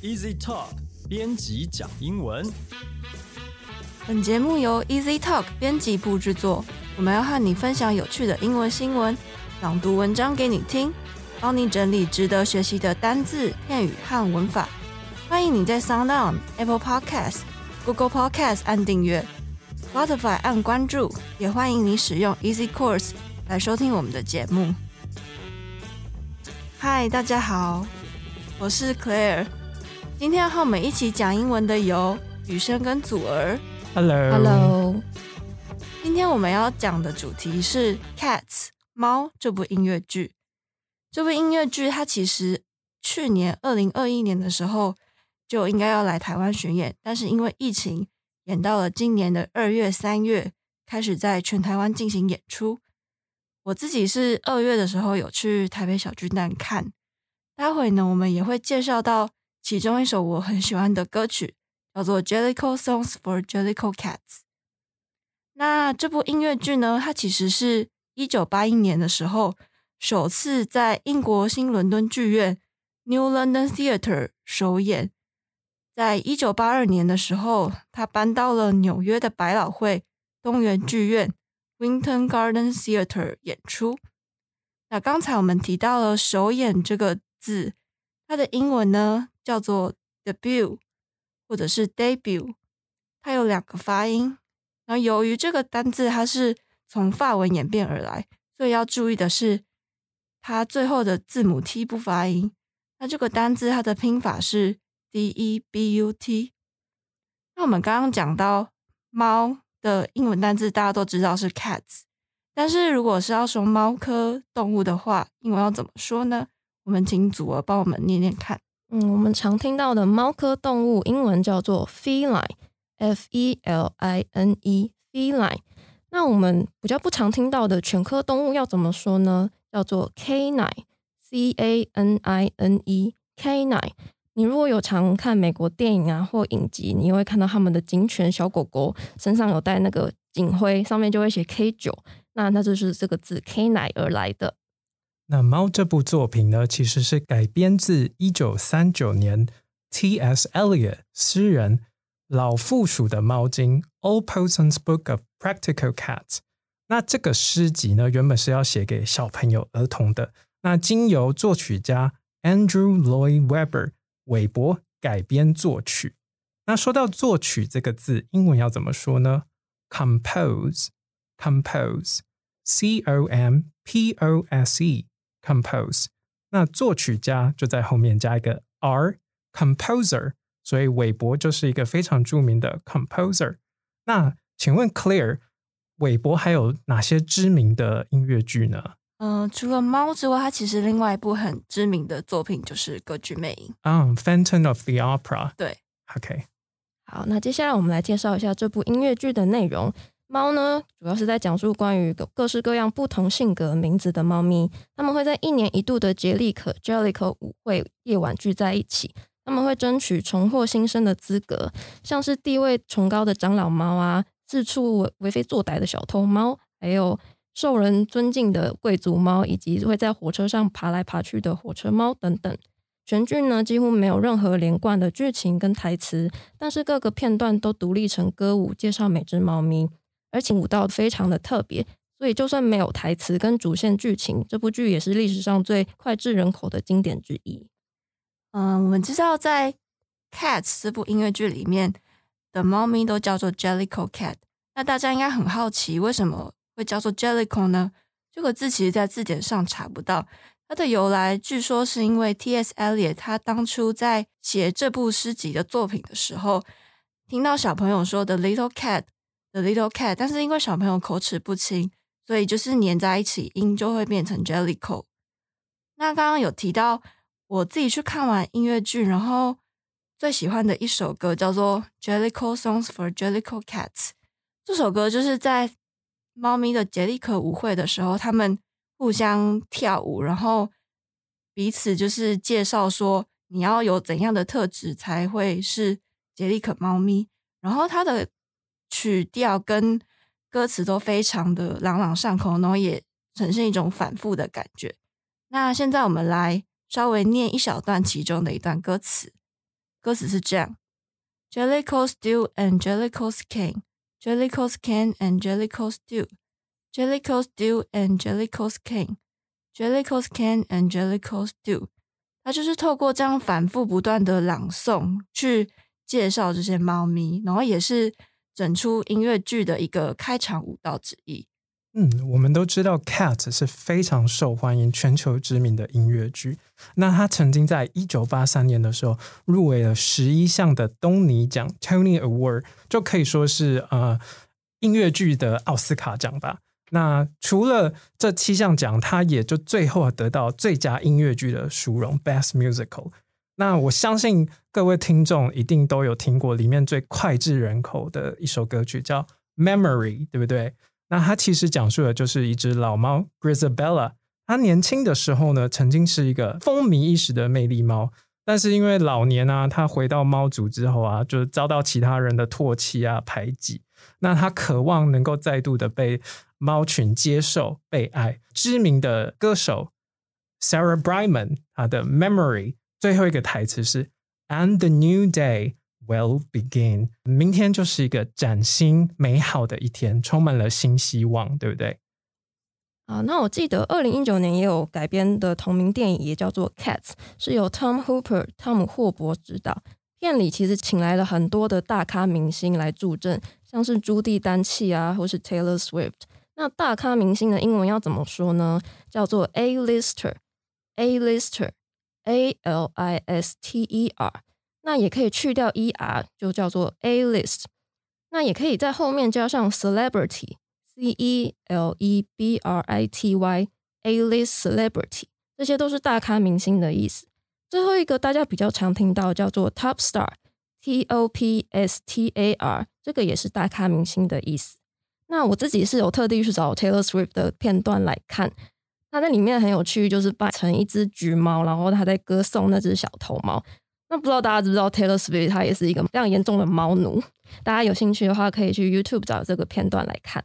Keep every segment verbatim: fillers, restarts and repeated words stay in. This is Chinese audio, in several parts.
Easy Talk 编辑讲英文。 本节目由 Easy Talk 编辑部制作，我们要和你分享有趣的英文新闻，朗读文章给你听，帮你整理值得学习的单字、片语和文法。欢迎你在 SoundOn、Apple Podcast、Google Podcast 按订阅， Spotify 按关注，也欢迎你使用 Easy Course 来收听我们的节目。嗨，大家好，我是 Claire。今天和我们一起讲英文的有雨生跟祖儿。 Hello Hello。今天我们要讲的主题是 Cats 猫这部音乐剧。这部音乐剧它其实去年二零二一年的时候就应该要来台湾巡演，但是因为疫情演到了今年的二月三月开始在全台湾进行演出。我自己是二月的时候有去台北小巨蛋看，待会呢我们也会介绍到其中一首我很喜欢的歌曲，叫做 Jellicle Songs for Jellicle Cats。 那这部音乐剧呢，它其实是一九八一年的时候首次在英国新伦敦剧院 New London Theatre 首演，在一九八二年的时候它搬到了纽约的百老汇东园剧院 Winton Garden Theatre 演出。那刚才我们提到了首演这个字，它的英文呢叫做 debut 或者是 debut， 它有两个发音。然后由于这个单字它是从法文演变而来，所以要注意的是它最后的字母 T 不发音。那这个单字它的拼法是 D E B U T。 那我们刚刚讲到猫的英文单字大家都知道是 cats， 但是如果是要说猫科动物的话，英文要怎么说呢？我们请祖儿帮我们念念看。 嗯，我们常听到的猫科动物英文叫做 feline， F E L I N E feline。 那我们比较不常听到的犬科动物要怎么说呢？叫做 canine， C A N I N E canine。 你如果有常看美国电影啊或影集，你会看到他们的警犬小狗狗身上有带那个警徽，上面就会写 K 九， 那那就是这个字 canine 而来的。 那猫这部作品呢，其实是改编自一九三九年 T S Eliot 诗人老附属的猫经 All Possum's Book of Practical Cats。 那这个诗集呢，原本是要写给小朋友儿童的，那经由作曲家 Andrew Lloyd Webber 韦伯改编作曲。那说到作曲这个字，英文要怎么说呢？ Compose Compose C O M P O S E Compose。 那作曲家就在后面加一个 R Composer， 所以韦伯就是一个非常著名的 Composer。 那请问 Claire， 韦伯还有哪些知名的音乐剧呢？ 呃，除了猫之外，它其实另外一部很知名的作品就是歌剧魅影。 嗯、um, Phantom of the Opera。 对 OK。 好，那接下来我们来介绍一下这部音乐剧的内容。猫呢，主要是在讲述关于各式各样不同性格名字的猫咪，他们会在一年一度的杰利可 Jellicle 舞会夜晚聚在一起，他们会争取重获新生的资格，像是地位崇高的长老猫啊，四处为非作歹的小偷猫，还有受人尊敬的贵族猫，以及会在火车上爬来爬去的火车猫等等。全剧呢几乎没有任何连贯的剧情跟台词，但是各个片段都独立成歌舞，介绍每只猫咪，而且舞蹈非常的特别，所以就算没有台词跟主线剧情，这部剧也是历史上最脍炙人口的经典之一。 嗯，我们知道在 Cats 这部音乐剧里面的猫咪都叫做 Jellicle Cat， 那大家应该很好奇为什么会叫做 Jellicle 呢？这个字其实在字典上查不到，它的由来据说是因为 T S Eliot 他当初在写这部诗集的作品的时候，听到小朋友说 The Little Cat The Little Cat， 但是因为小朋友口齿不清，所以就是黏在一起，音就会变成 Jellicle。 那刚刚有提到我自己去看完音乐剧，然后最喜欢的一首歌叫做 Jellicle Songs for Jellicle Cats。 这首歌就是在猫咪的杰利可舞会的时候，他们互相跳舞，然后彼此就是介绍说你要有怎样的特质才会是杰利可猫咪，然后它的曲调跟歌词都非常的朗朗上口，然后也呈现一种反复的感觉。那现在我们来稍微念一小段其中的一段歌词。 歌词是这样 Jellicoe stew and Jellicoe's cane Jellicoe's cane and Jellicoe stew Jellicoe stew and Jellicoe's cane Jellicoe's cane and Jellicoe stew 它就是透过这样反复不断的朗诵去介绍这些猫咪，然后也是整出音乐剧的一个开场舞蹈之一。 嗯，我们都知道 Cats 是非常受欢迎、全球知名的音乐剧。那它曾经在一九八三年的时候入围了十一项的东尼奖 Tony Award， 就可以说是呃音乐剧的奥斯卡奖吧。那除了这七项奖，它也就最后得到最佳音乐剧的殊荣 Best Musical。那我相信各位听众一定都有听过里面最脍炙人口的一首歌曲叫 Memory， 对不对？那它其实讲述的就是一只老猫 Grisabella， 它年轻的时候呢，曾经是一个风靡一时的魅力猫，但是因为老年啊，它回到猫族之后啊，就遭到其他人的唾弃啊、排挤。那它渴望能够再度的被猫群接受、被爱。知名的歌手 Sarah Brightman， 她的 Memory 最后一个台词是 And the new day will begin， 明天就是一个崭新美好的一天，充满了新希望，对不对？ 啊，那我记得二零一九年也有改编的同名电影，也叫做 Cats， 是由 Tom Hooper 汤姆霍伯执导。片里其实请来了很多的大咖明星来助阵，像是朱蒂丹契啊，或是 Taylor Swift。那大咖明星的英文要怎么说呢？叫做 A-lister A-lister A L I S T E R， 那也可以去掉 E R 就叫做 A-list， 那也可以在后面加上 celebrity C E L E B R I T Y A-list celebrity， 这些都是大咖明星的意思。最后一个大家比较常听到叫做 top star T O P S T A R， 这个也是大咖明星的意思。那我自己是有特地去找 Taylor Swift 的片段来看，他在里面很有趣，就是扮成一只橘猫，然后他在歌颂那只小头猫。那不知道大家知不知道 Taylor Swift 他也是一个非常严重的猫奴，大家有兴趣的话可以去 YouTube 找这个片段来看。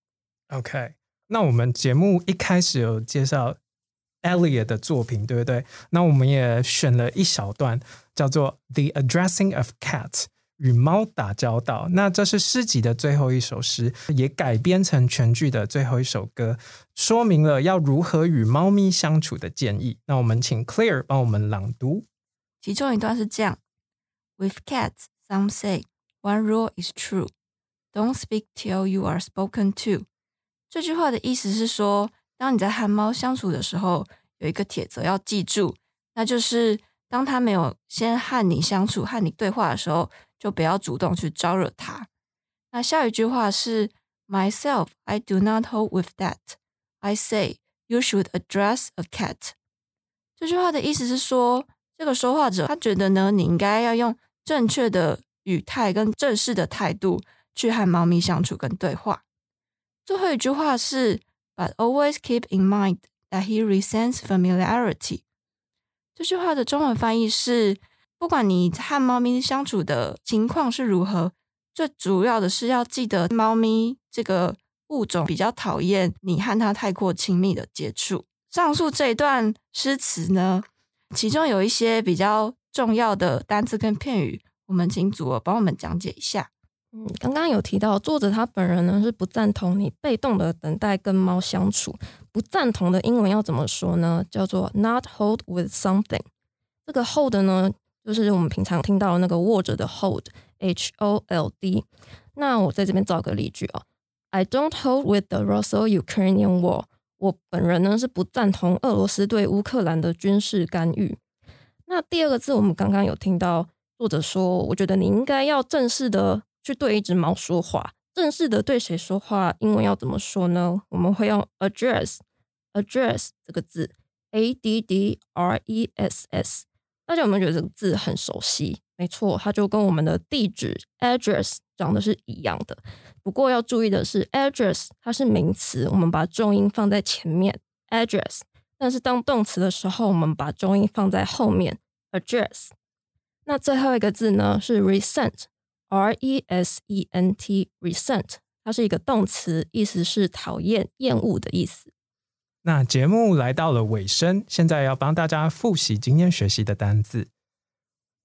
OK， 那我们节目一开始有介绍 Eliot 的作品，对不对？那我们也选了一小段叫做 The Addressing of Cats， 与猫打交道。那这是诗集的最后一首诗，也改编成全剧的最后一首歌，说明了要如何与猫咪相处的建议。那我们请 Claire 帮我们朗读。 其中一段是这样 With cats, some say, one rule is true. Don't speak till you are spoken to. 这句话的意思是说，当你在和猫相处的时候，有一个铁则要记住，那就是当它没有先和你相处、和你对话的时候，就不要主动去招惹它。那下一句话是 Myself, I do not hold with that. I say, you should address a cat. 这句话的意思是说，这个说话者他觉得呢，你应该要用正确的语态跟正式的态度去和猫咪相处跟对话。最后一句话是 But always keep in mind that he resents familiarity。 这句话的中文翻译是，不管你和猫咪相处的情况是如何，最主要的是要记得猫咪这个物种比较讨厌你和它太过亲密的接触。上述这一段诗词呢，其中有一些比较重要的单字跟片语，我们请祖儿帮我们讲解一下。 嗯，刚刚有提到作者他本人呢是不赞同你被动的等待跟猫相处。不赞同的英文要怎么说呢？叫做 not hold with something。 这个 hold 呢就是我们平常听到的那个握着的 hold H O L D。 那我在这边造个例句哦 I don't hold with the Russo-Ukrainian war。 我本人呢是不赞同俄罗斯对乌克兰的军事干预。那第二个字我们刚刚有听到作者说，我觉得你应该要正式的去对一只猫说话。正式的对谁说话，英文要怎么说呢？我们会用 address address 这个字 A D D R E S S。 大家有没有觉得这个字很熟悉？没错，它就跟我们的地址 address 长得是一样的。不过要注意的是 address 它是名词，我们把重音放在前面 address， 但是当动词的时候我们把重音放在后面 address。 那最后一个字呢是 resent R E S E N T resent， 它是一个动词，意思是讨厌、厌恶的意思。 那节目来到了尾声，现在要帮大家复习今天学习的单字。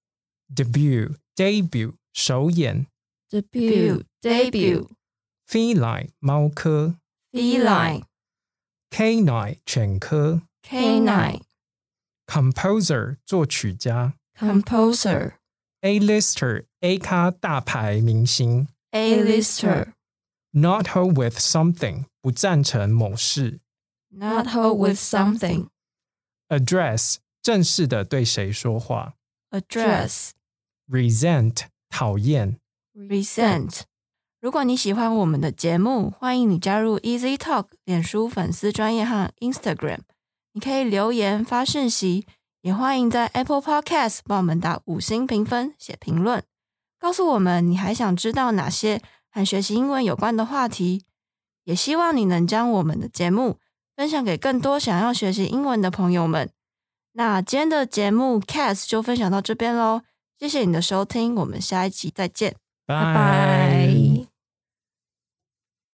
debut debut 首演 debut debut feline 猫科 feline canine 犬科 canine composer 作曲家 composer A-lister A 咖大牌明星 A-lister not hold with something 不赞成某事 not hold with something address 正式的对谁说话 address resent 讨厌 resent 如果你喜欢我们的节目，欢迎你加入 Easy Talk 脸书粉丝专页和 Instagram， 你可以留言发讯息，也欢迎在 Apple Podcast 帮我们打五星评分写评论，告诉我们你还想知道哪些和学习英文有关的话题，也希望你能将我们的节目分享给更多想要学习英文的朋友们。那今天的节目 Cats 就分享到这边咯，谢谢你的收听，我们下一期再见， 拜拜。